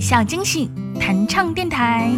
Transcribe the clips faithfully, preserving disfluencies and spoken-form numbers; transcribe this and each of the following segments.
小惊喜弹唱电台。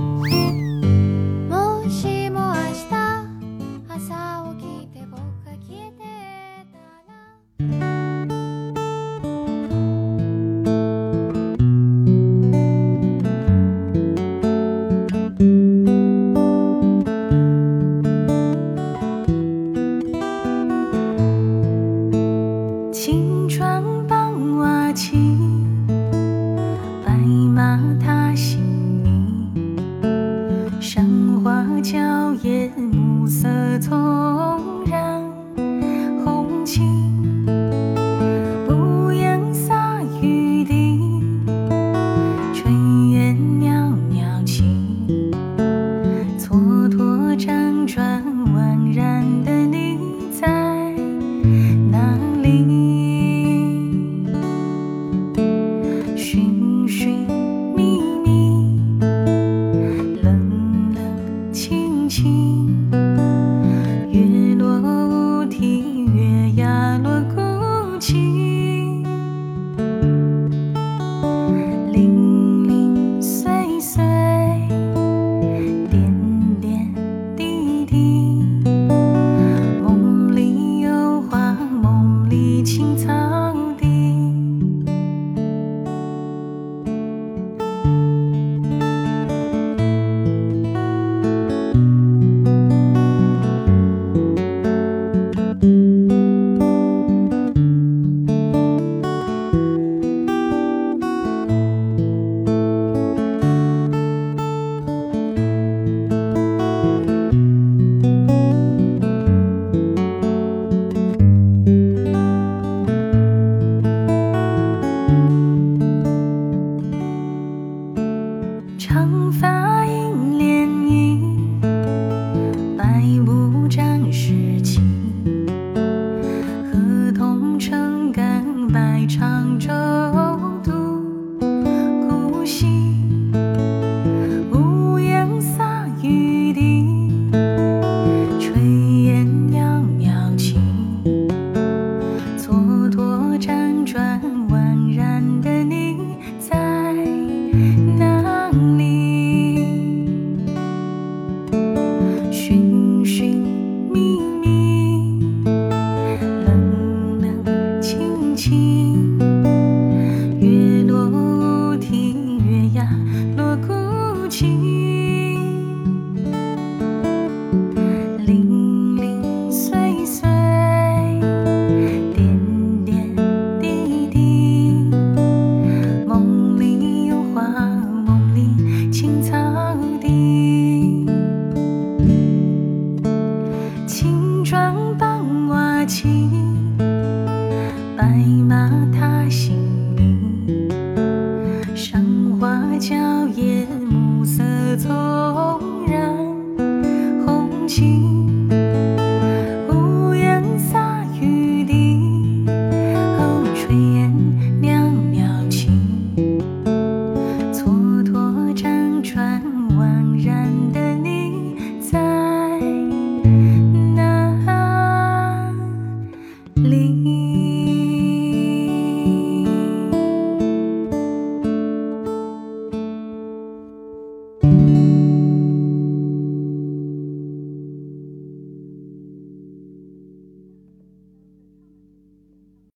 青砖傍瓦起，白马踏新泥，山花娇艳，暮色葱然红旗，屋檐洒雨滴，炊烟袅袅起，蹉跎辗转宛然的你在哪里？寻寻觅觅，冷冷清清，月落乌啼，月牙落孤寂，零零碎碎，点点滴滴，梦里有花，梦里青草地。长发映涟漪，白雾沾湿气，河童撑杆，百长舟渡孤溪，屋檐洒雨滴，炊烟袅袅起，蹉跎辗转宛然的你在哪里？寻寻觅觅，冷冷清清，月落乌啼，月牙落孤寂，零零碎碎，点点滴滴，梦里有花，梦里青草地。青砖傍瓦起，白马踏新